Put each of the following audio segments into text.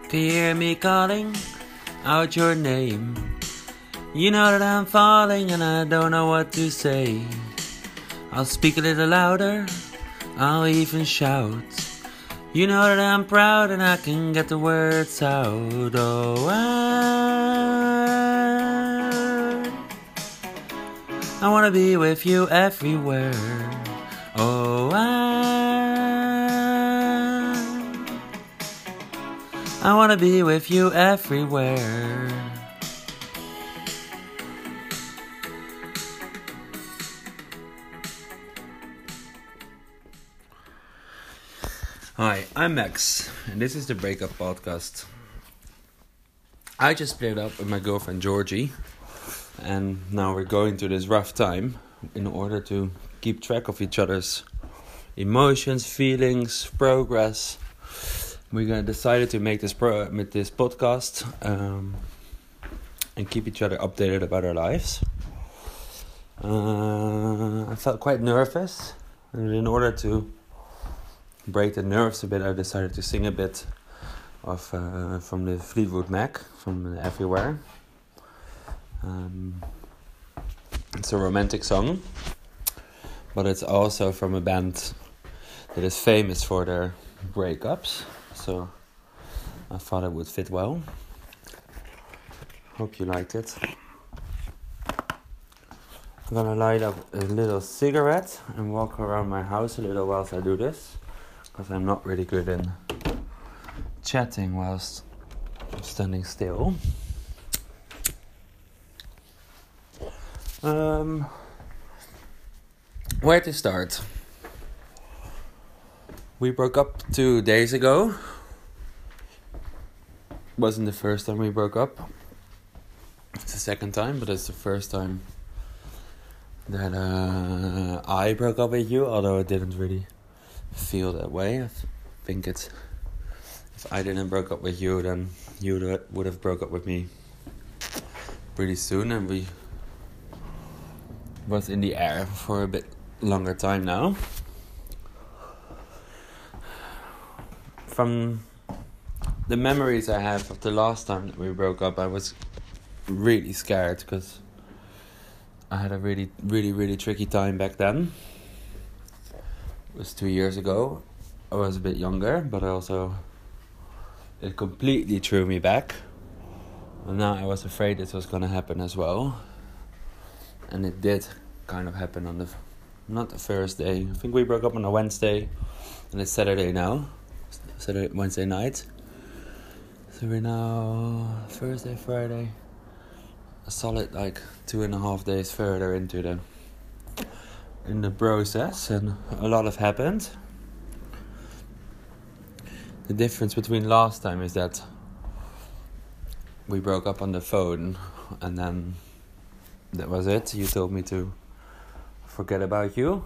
Can you hear me calling out your name? You know that I'm falling and I don't know what to say. I'll speak a little louder, I'll even shout. You know that I'm proud and I can get the words out. Oh, I wanna be with you everywhere. Oh, I wanna be with you everywhere. Hi, I'm Max, and this is the Breakup Podcast. I just split up with my girlfriend Georgie, and now we're going through this rough time in order to keep track of each other's emotions, feelings, progress. We decided to make this podcast and keep each other updated about our lives. I felt quite nervous, and in order to break the nerves a bit, I decided to sing a bit of from the Fleetwood Mac, from Everywhere. It's a romantic song, but it's also from a band that is famous for their breakups, so I thought it would fit well. Hope you liked it. I'm gonna light up a little cigarette and walk around my house a little whilst I do this, because I'm not really good in chatting whilst I'm standing still. Where to start? We broke up 2 days ago. Wasn't the first time we broke up. It's the second time, but it's the first time that I broke up with you, although it didn't really feel that way. I think it's, if I didn't break up with you, then you would have broke up with me pretty soon, and we was in the air for a bit longer time now. From the memories I have of the last time that we broke up, I was really scared because I had a really, really, really tricky time back then. It was 2 years ago. I was a bit younger, but it completely threw me back. And now I was afraid this was going to happen as well. And it did kind of happen on not the first day. I think we broke up on a Wednesday, and it's Saturday now. Wednesday night. So we're now Thursday, Friday. A solid 2.5 days further into the process, and a lot has happened. The difference between last time is that we broke up on the phone, and then that was it. You told me to forget about you,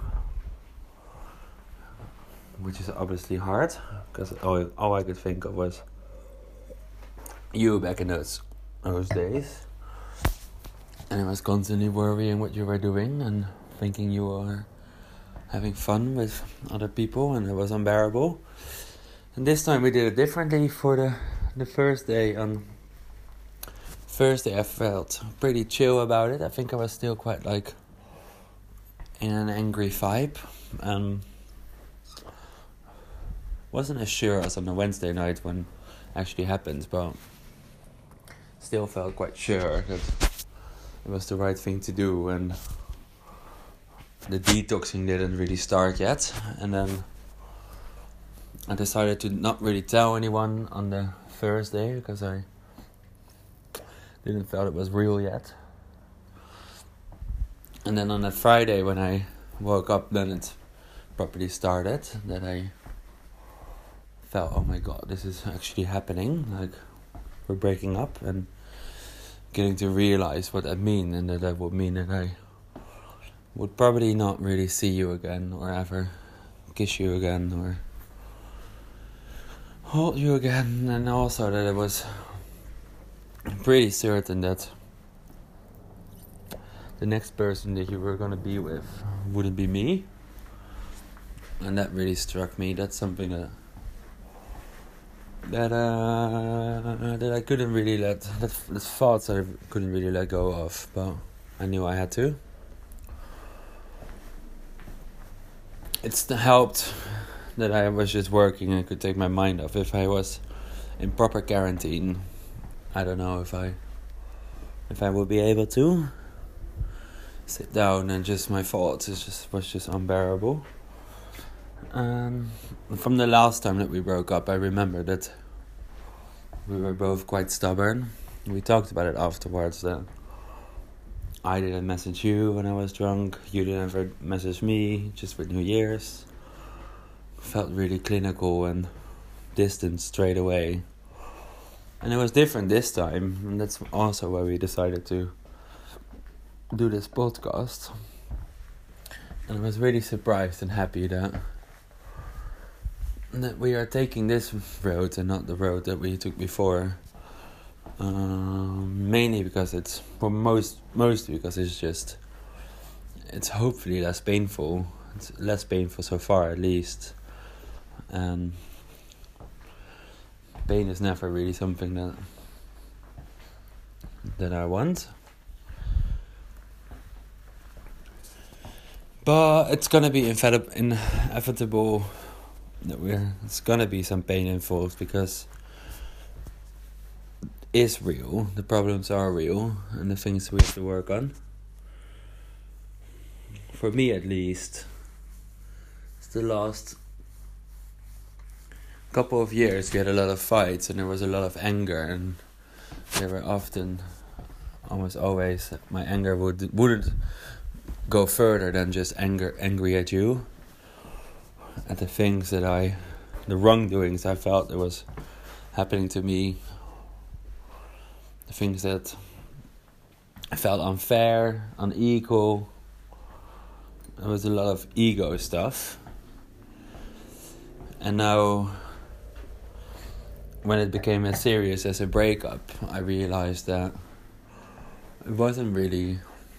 which is obviously hard, because all I could think of was you back in those days. And I was constantly worrying what you were doing and thinking you were having fun with other people, and it was unbearable. And this time we did it differently. For the first day, on Thursday, I felt pretty chill about it. I think I was still quite in an angry vibe. Wasn't as sure as on the Wednesday night when it actually happened, but still felt quite sure that it was the right thing to do, and the detoxing didn't really start yet. And then I decided to not really tell anyone on the Thursday because I didn't feel it was real yet. And then on that Friday when I woke up, then it properly started, that I felt, oh my god, this is actually happening. We're breaking up, and getting to realize what that means, and that would mean that I would probably not really see you again, or ever kiss you again, or hold you again. And also that it was pretty certain that the next person that you were going to be with wouldn't be me. And that really struck me. That's something that that I couldn't really the thoughts I couldn't really let go of, but I knew I had to. It's helped that I was just working and could take my mind off. If I was in proper quarantine, I don't know if I would be able to sit down and just my thoughts was just unbearable. From the last time that we broke up, I remember that we were both quite stubborn. We talked about it afterwards, that I didn't message you when I was drunk, you didn't ever message me, just for New Year's. Felt really clinical and distant straight away. And it was different this time, and that's also why we decided to do this podcast. And I was really surprised and happy that we are taking this road and not the road that we took before. Mainly because mostly because it's hopefully less painful. It's less painful so far, at least. And pain is never really something that I want. But it's gonna be inevitable that it's gonna be some pain involved, because it's real. The problems are real, and the things we have to work on. For me, at least, it's the last couple of years we had a lot of fights, and there was a lot of anger, and there were often, almost always, my anger wouldn't go further than just angry at you, at the things the wrongdoings I felt that was happening to me, the things that I felt unfair, unequal. There was a lot of ego stuff. And now, when it became as serious as a breakup, I realized that it wasn't really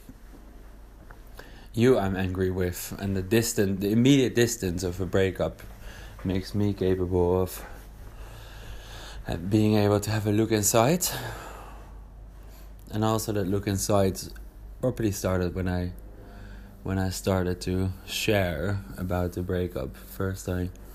you I'm angry with, and the immediate distance of a breakup makes me capable of being able to have a look inside. And also that look inside properly started when I started to share about the breakup. First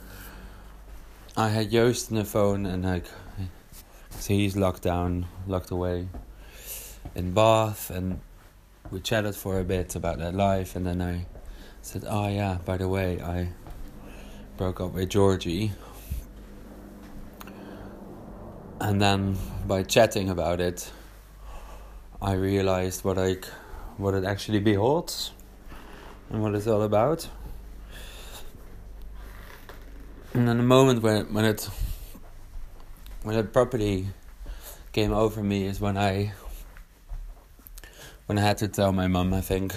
I had Joost on the phone, and so he's locked away in Bath, and we chatted for a bit about that life, and then I said, oh yeah, by the way, I broke up with Georgie. And then by chatting about it, I realized what it actually beholds and what it's all about. And then the moment when it properly came over me is when I had to tell my mum, I think,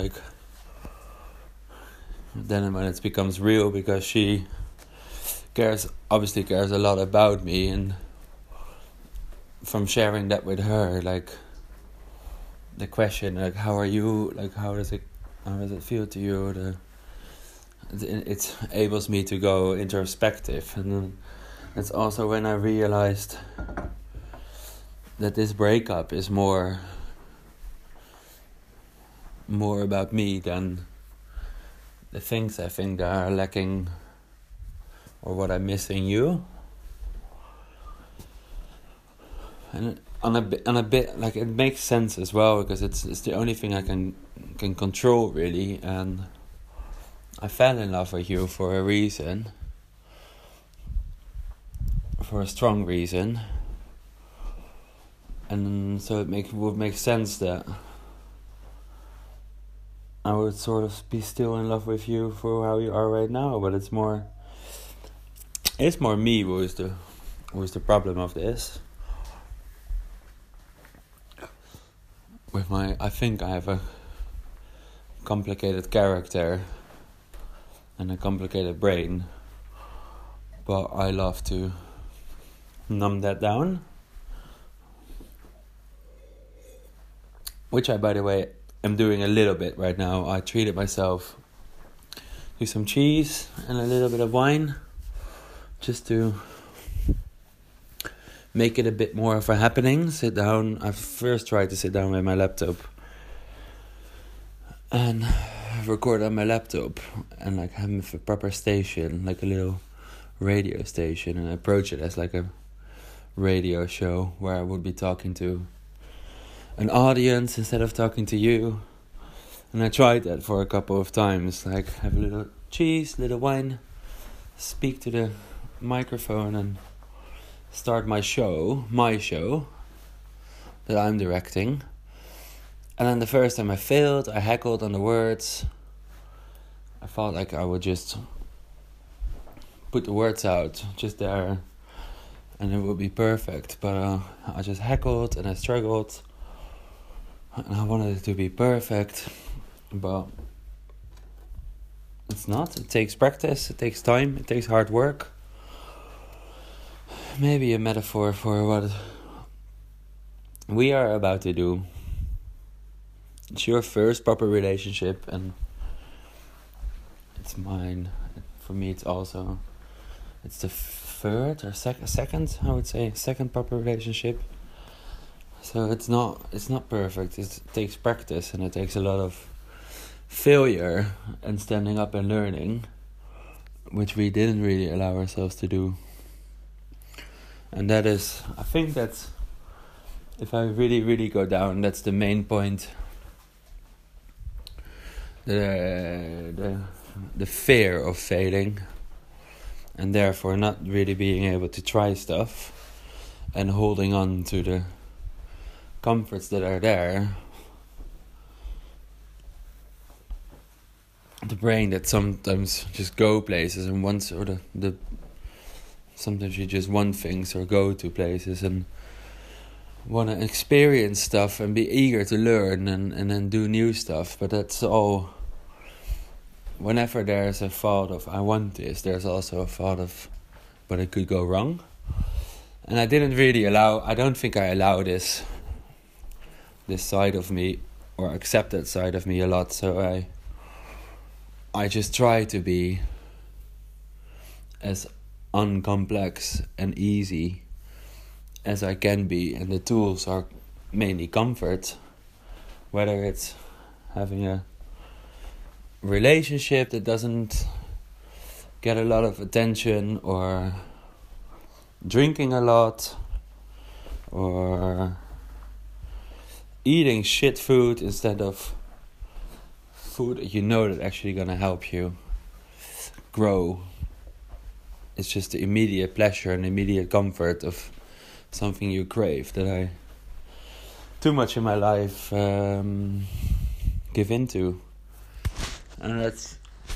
then when it becomes real, because she obviously cares a lot about me, and from sharing that with her, the question, how are you, how does it feel to you, it enables me to go introspective. And then it's also when I realized that this breakup is more about me than the things I think that are lacking or what I miss in you. And on a bit it makes sense as well, because it's the only thing I can control, really. And I fell in love with you for a reason, for a strong reason, and so it would make sense that I would sort of be still in love with you for how you are right now. But it's more me who is the problem of this. I think I have a complicated character and a complicated brain, but I love to numb that down, which I, by the way, am doing a little bit right now. I treated myself to some cheese and a little bit of wine, just to make it a bit more of a happening. Sit down. I first tried to sit down with my laptop and record on my laptop and like have a proper station, like a little radio station, and approach it as like a radio show where I would be talking to an audience instead of talking to you. And I tried that for a couple of times, like have a little cheese, little wine, speak to the microphone and start my show that I'm directing. And then the first time I failed, I heckled on the words. I felt like I would just put the words out just there and it would be perfect. But I just heckled and I struggled. And I wanted it to be perfect. But it's not. It takes practice, it takes time, it takes hard work. Maybe a metaphor for what we are about to do. It's your first proper relationship and it's mine. For me it's the third or second, I would say, second proper relationship. So it's not perfect. It takes practice and it takes a lot of failure and standing up and learning, which we didn't really allow ourselves to do. And I think that's, if I really, really go down, that's the main point. The fear of failing, and therefore not really being able to try stuff, and holding on to the comforts that are there. The brain that sometimes just go places and wants, or the sometimes you just want things or go to places and want to experience stuff and be eager to learn and then do new stuff. But that's all. Whenever there's a thought of I want this, there's also a thought of but it could go wrong. And I don't think I allow this side of me or accept that side of me a lot. So I just try to be as uncomplex and easy as I can be, and the tools are mainly comfort, whether it's having a relationship that doesn't get a lot of attention, or drinking a lot, or eating shit food instead of food that you know that actually gonna help you grow. It's just the immediate pleasure and immediate comfort of something you crave that I too much in my life give into. And that's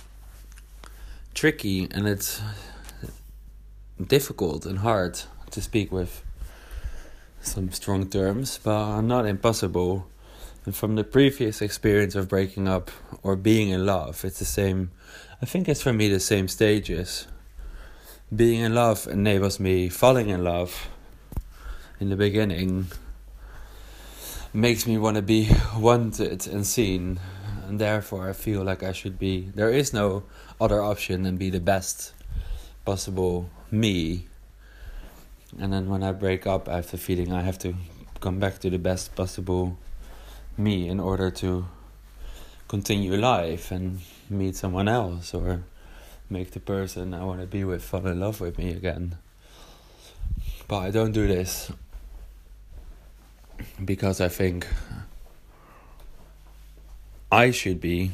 tricky and it's difficult and hard to speak with some strong terms, but not impossible. And from the previous experience of breaking up or being in love, it's the same. I think it's for me the same stages. Being in love enables me falling in love in the beginning, makes me want to be wanted and seen, and therefore I feel like I should be, there is no other option than be the best possible me. And then when I break up, I have the feeling I have to come back to the best possible me in order to continue life and meet someone else, or make the person I want to be with fall in love with me again. But I don't do this because I think I should be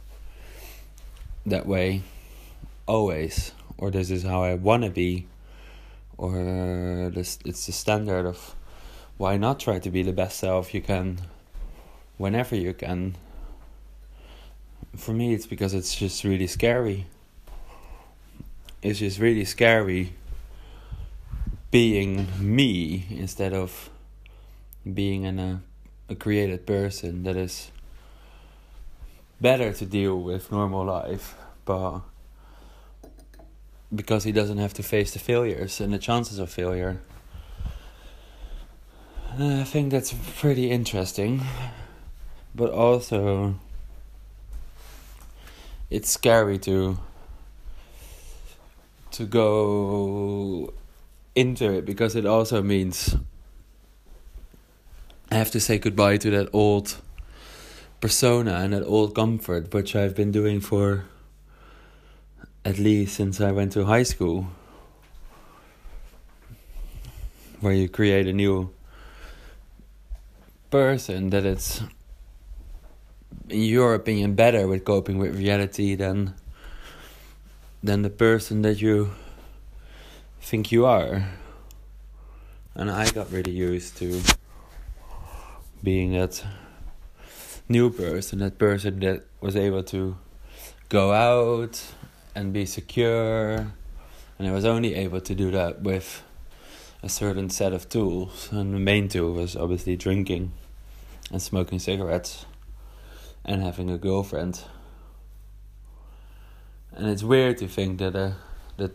that way always, or this is how I want to be, or it's the standard of why not try to be the best self you can whenever you can. For me, it's because it's just really scary. It's just really scary being me instead of being a created person that is better to deal with normal life, but because he doesn't have to face the failures and the chances of failure. I think that's pretty interesting, but also it's scary to go into it, because it also means I have to say goodbye to that old persona and that old comfort, which I've been doing for at least since I went to high school, where you create a new person that it's, in your opinion, better with coping with reality than the person that you think you are. And I got really used to being that new person, that person that was able to go out and be secure, and I was only able to do that with a certain set of tools, and the main tool was obviously drinking and smoking cigarettes and having a girlfriend. And it's weird to think that that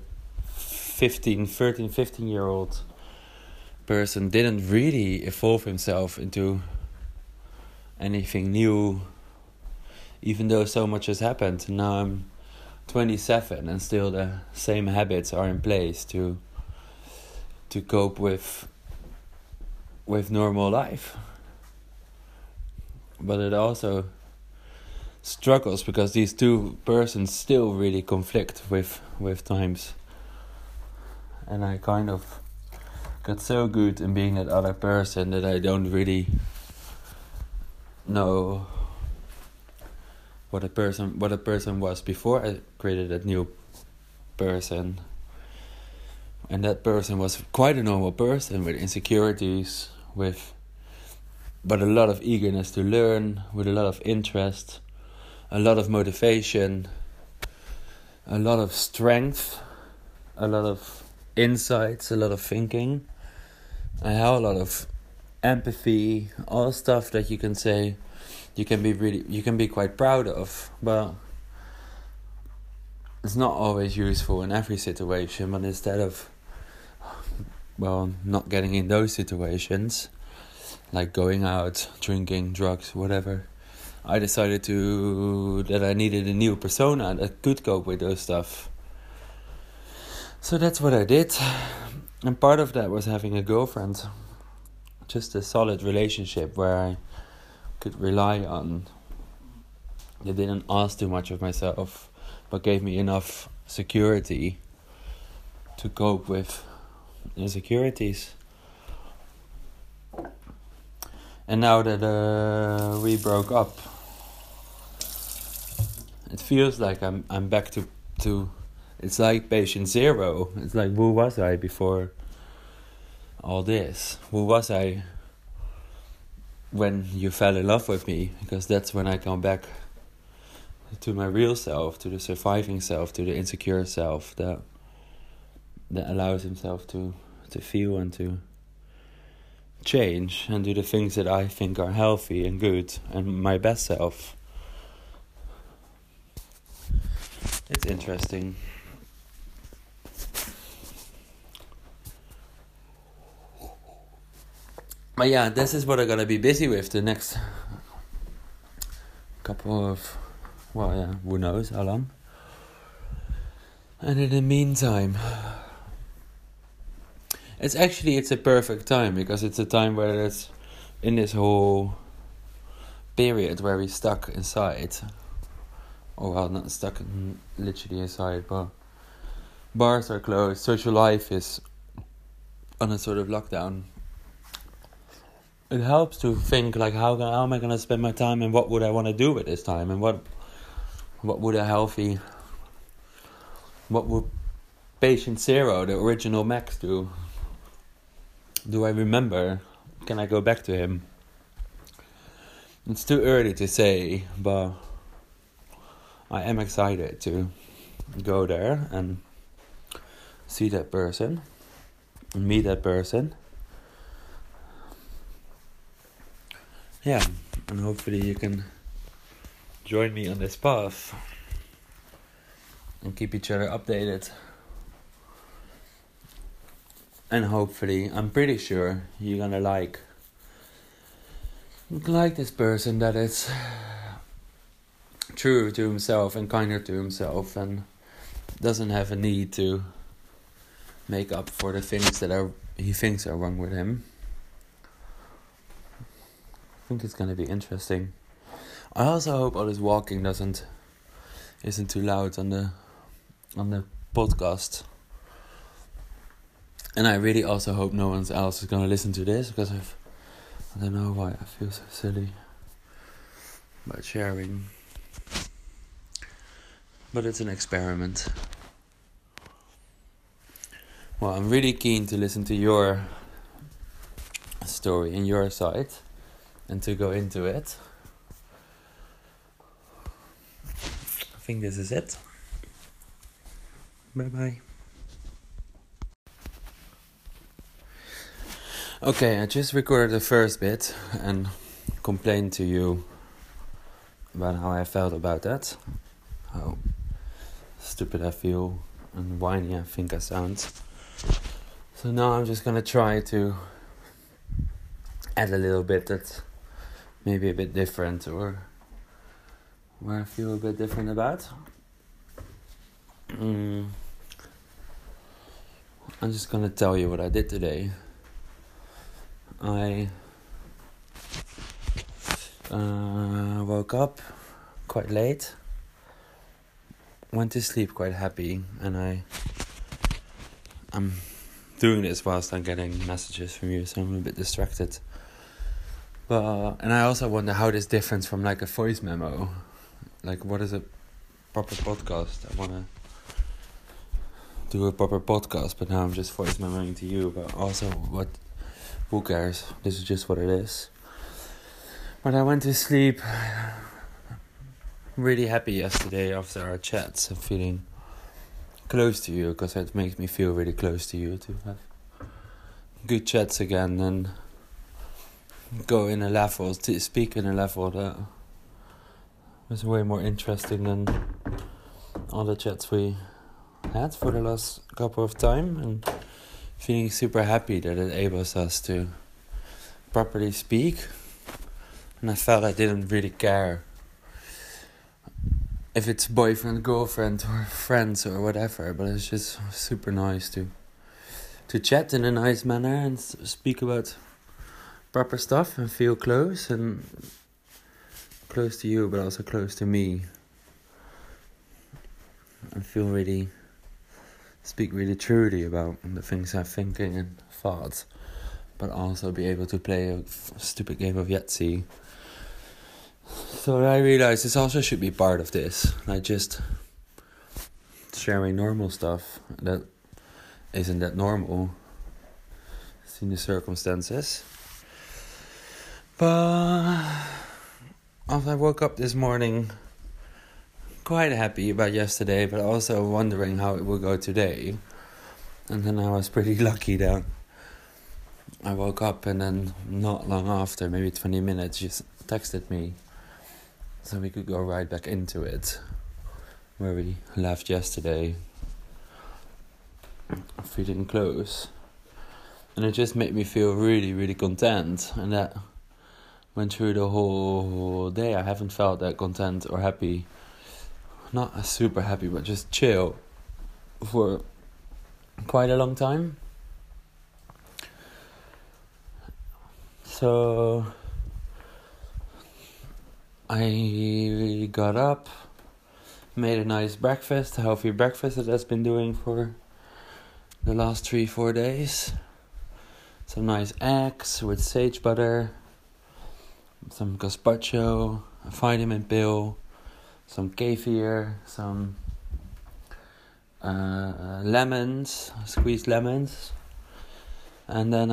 15-year-old person didn't really evolve himself into anything new, even though so much has happened. Now I'm 27 and still the same habits are in place to cope with normal life. But it also struggles because these two persons still really conflict with times. And I kind of got so good in being that other person that I don't really know what a person was before I created that new person. And that person was quite a normal person with insecurities, but a lot of eagerness to learn, with a lot of interest, a lot of motivation, a lot of strength, a lot of insights, a lot of thinking. I have a lot of empathy, all stuff that you can say you can be quite proud of, but it's not always useful in every situation. But instead of not getting in those situations, like going out, drinking, drugs, whatever, I decided that I needed a new persona that could cope with those stuff. So that's what I did. And part of that was having a girlfriend. Just a solid relationship where I could rely on. They didn't ask too much of myself, but gave me enough security to cope with insecurities. And now that we broke up, it feels like I'm back to it's like patient zero. It's like, who was I before all this? Who was I when you fell in love with me? Because that's when I come back to my real self, to the surviving self, to the insecure self that allows himself to feel and to change and do the things that I think are healthy and good and my best self. It's interesting. But yeah, this is what I'm gonna be busy with the next couple of, who knows how long. And in the meantime, it's a perfect time, because it's a time where it's in this whole period where we're stuck inside. Not stuck literally inside, but bars are closed, social life is on a sort of lockdown. It helps to think like, how am I gonna spend my time, and what would I want to do with this time, and what would patient zero, the original Max, do? Do I remember? Can I go back to him? It's too early to say, but I am excited to go there and see that person and meet that person. Yeah, and hopefully you can join me on this path and keep each other updated. And hopefully, I'm pretty sure you're gonna like this person that is true to himself and kinder to himself and doesn't have a need to make up for the things that he thinks are wrong with him. I think it's gonna be interesting. I also hope all this walking isn't too loud on the podcast. And I really also hope no one else is gonna listen to this, because I don't know why I feel so silly about sharing. But it's an experiment. Well, I'm really keen to listen to your story and your side and to go into it. I think this is it. Bye-bye. Okay, I just recorded the first bit and complained to you about how I felt about that. How stupid I feel and whiny I think I sound. So now I'm just gonna try to add a little bit that's maybe a bit different, or where I feel a bit different about. I'm just gonna tell you what I did today. I woke up quite late, went to sleep quite happy, and I'm doing this whilst I'm getting messages from you, so I'm a bit distracted. And I also wonder how this differs from like a voice memo. Like, what is a proper podcast? I want to do a proper podcast, but now I'm just voice memoing to you. But also, who cares? This is just what it is. But I went to sleep really happy yesterday after our chats and feeling close to you, because it makes me feel really close to you to have good chats again and go in a level, to speak in a level that was way more interesting than all the chats we had for the last couple of time, and feeling super happy that it enables us to properly speak. And I felt I didn't really care if it's boyfriend, girlfriend, or friends or whatever, but it's just super nice to chat in a nice manner and speak about proper stuff and feel close to you, but also close to me. And speak really truly about the things I'm thinking and thoughts, but also be able to play a stupid game of Yahtzee. So I realized this also should be part of this, like just sharing normal stuff that isn't that normal in the circumstances. But after I woke up this morning, quite happy about yesterday, but also wondering how it will go today. And then I was pretty lucky that I woke up, and then not long after, maybe 20 minutes, she texted me, so we could go right back into it where we left yesterday, feeling close. And it just made me feel really, really content, and that went through the whole day. I haven't felt that content or happy, not super happy, but just chill for quite a long time. So I got up, made a nice breakfast, a healthy breakfast that I've been doing for the last 3-4 days. Some nice eggs with sage butter, some gazpacho, a vitamin pill, some kefir, some lemons, squeezed lemons. And then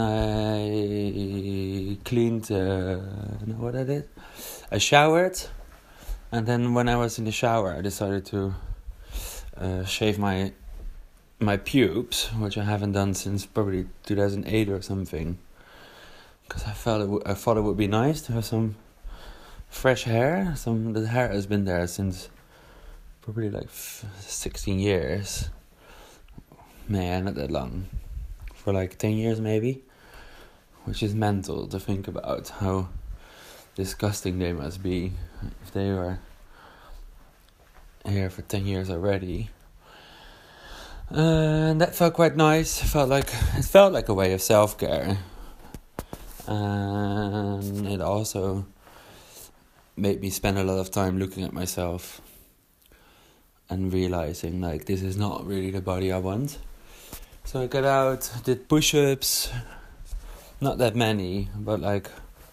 I cleaned, what I did? I showered, and then when I was in the shower, I decided to shave my pubes, which I haven't done since probably 2008 or something. Because I thought it would be nice to have some fresh hair. The hair has been there since probably like 16 years. Man, not that long. For like 10 years maybe. Which is mental to think about how disgusting they must be if they were here for 10 years already. And that felt quite nice. It felt like a way of self-care. And it also made me spend a lot of time looking at myself and realizing like this is not really the body I want. So I got out, did push-ups, not that many, but like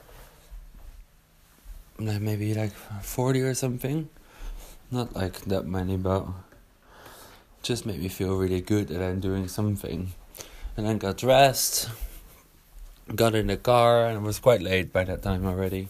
maybe like 40 or something. Not like that many, but just made me feel really good that I'm doing something. And then got dressed, got in the car, and it was quite late by that time already.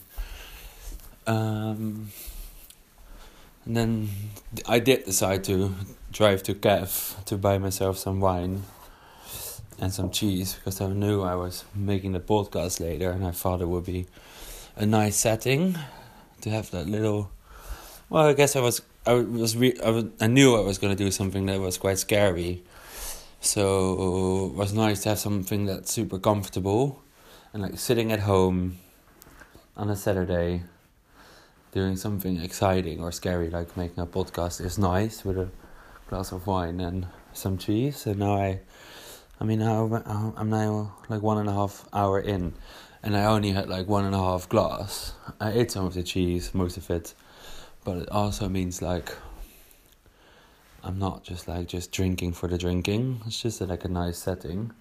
And then I did decide to drive to Kev to buy myself some wine and some cheese, because I knew I was making the podcast later, and I thought it would be a nice setting to have that little. Well, I guess I knew I was going to do something that was quite scary, so it was nice to have something that's super comfortable, and like sitting at home on a Saturday doing something exciting or scary like making a podcast is nice with a glass of wine and some cheese. And now I'm now like 1.5 hours in, and I only had like 1.5 glass. I ate some of the cheese, most of it, but it also means like I'm not just drinking for the drinking. It's just like a nice setting.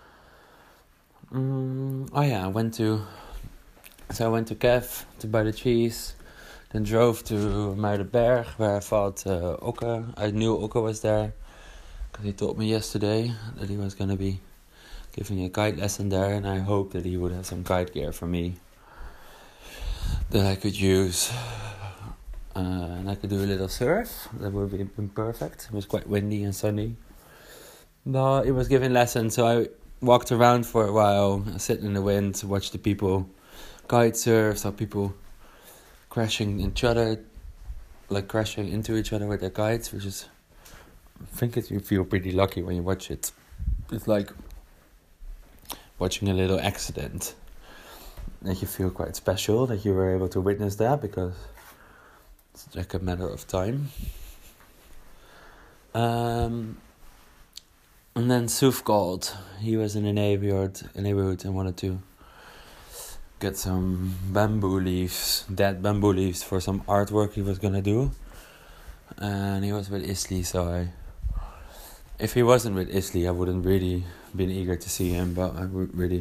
I went to Kev to buy the cheese. Then drove to Muidenberg, where I thought Okke. I knew Okke was there, because he told me yesterday that he was going to be giving a kite lesson there, and I hoped that he would have some kite gear for me that I could use. And I could do a little surf. That would have been perfect. It was quite windy and sunny. But he was giving lessons, so I walked around for a while, sitting in the wind, watched the people kite surf, saw people crashing into each other with their kites, which is, I think you feel pretty lucky when you watch it. It's like watching a little accident, that you feel quite special that you were able to witness that, because it's like a matter of time. And then Suf called. He was in a neighborhood and wanted to get some dead bamboo leaves for some artwork he was gonna do. And he was with Isli, so if he wasn't with Isli, I wouldn't really been eager to see him, but I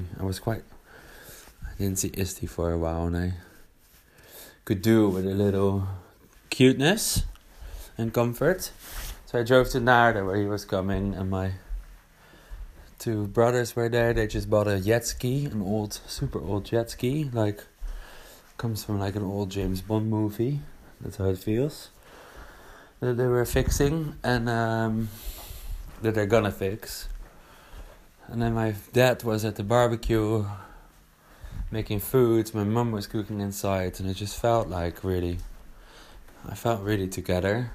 didn't see Isli for a while, and I could do with a little cuteness and comfort. So I drove to Naarden, where he was coming, and my 2 brothers were there. They just bought a jet ski, an super old jet ski, like comes from like an old James Bond movie. That's how it feels. That they were fixing, and that they're gonna fix. And then my dad was at the barbecue making food. My mum was cooking inside, and it just felt like I felt really together.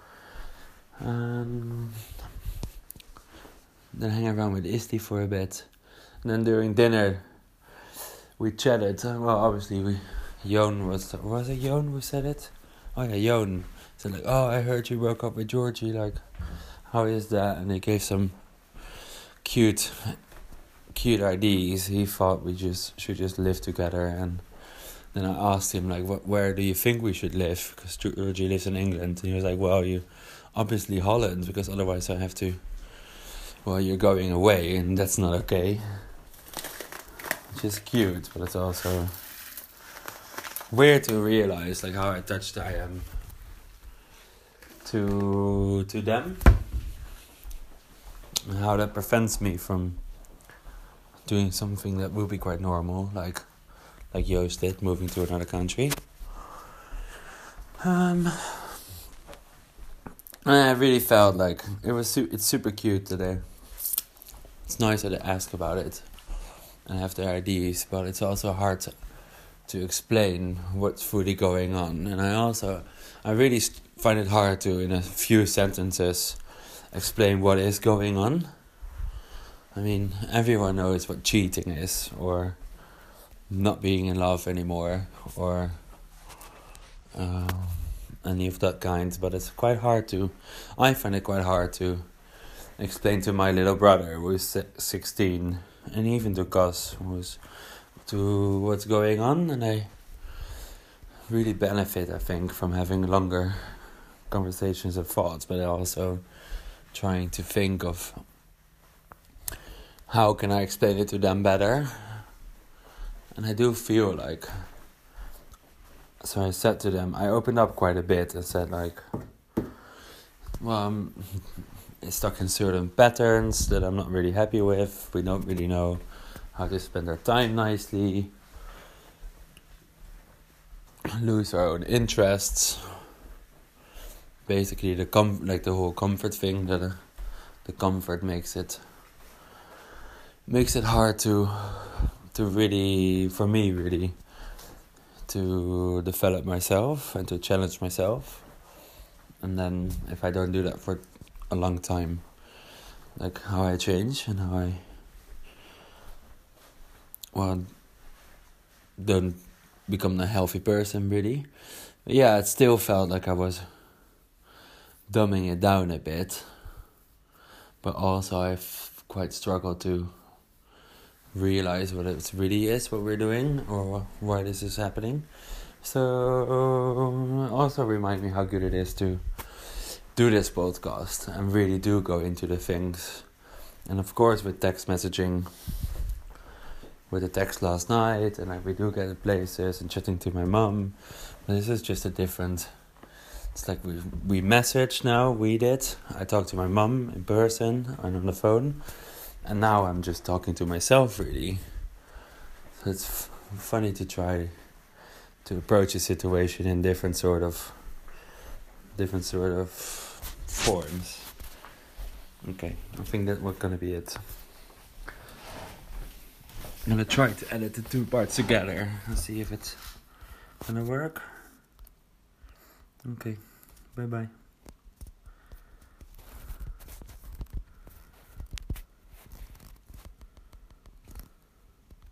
Then hang around with Isli for a bit. And then during dinner, we chatted. Well, obviously, was it Joan who said it? Oh yeah, Joan said like, "Oh, I heard you broke up with Georgie. Like, how is that?" And he gave some cute ideas. He thought we should just live together. And then I asked him like, where do you think we should live? Because Georgie lives in England. And he was like, well, you obviously Holland, because otherwise I have to. Well, you're going away, and that's not okay. Which is cute, but it's also weird to realize like how attached I am to them, and how that prevents me from doing something that will be quite normal, like Joost did, moving to another country. And I really felt like it's super cute today. It's nice that they ask about it and have their ideas, but it's also hard to explain what's fully going on. And I really find it hard to, in a few sentences, explain what is going on. I mean, everyone knows what cheating is, or not being in love anymore, or any of that kind, but it's quite hard I find it quite hard to explain to my little brother who's 16, and even to Gus to what's going on, and I really benefit, I think, from having longer conversations and thoughts, but also trying to think of how can I explain it to them better. And I do feel like, so I said to them, I opened up quite a bit and said like, well, I'm stuck in certain patterns that I'm not really happy with. We don't really know how to spend our time nicely, lose our own interests. Basically, the whole comfort thing, that the comfort makes it hard to really, for me really, to develop myself and to challenge myself. And then if I don't do that for a long time, like how I change and how I don't become a healthy person really. But yeah, it still felt like I was dumbing it down a bit, but also I've quite struggled to realize what it really is, what we're doing, or why this is happening. So also remind me how good it is to do this podcast and really do go into the things. And of course with text messaging, with the text last night, and we do get to places and chatting to my mum, but this is just a different, it's like we message now, I talk to my mum in person and on the phone, and now I'm just talking to myself really. So it's funny to try to approach a situation in different sort of forms. Okay, I think that was gonna be it. I'm gonna try to edit the two parts together and see if it's gonna work. Okay, bye bye.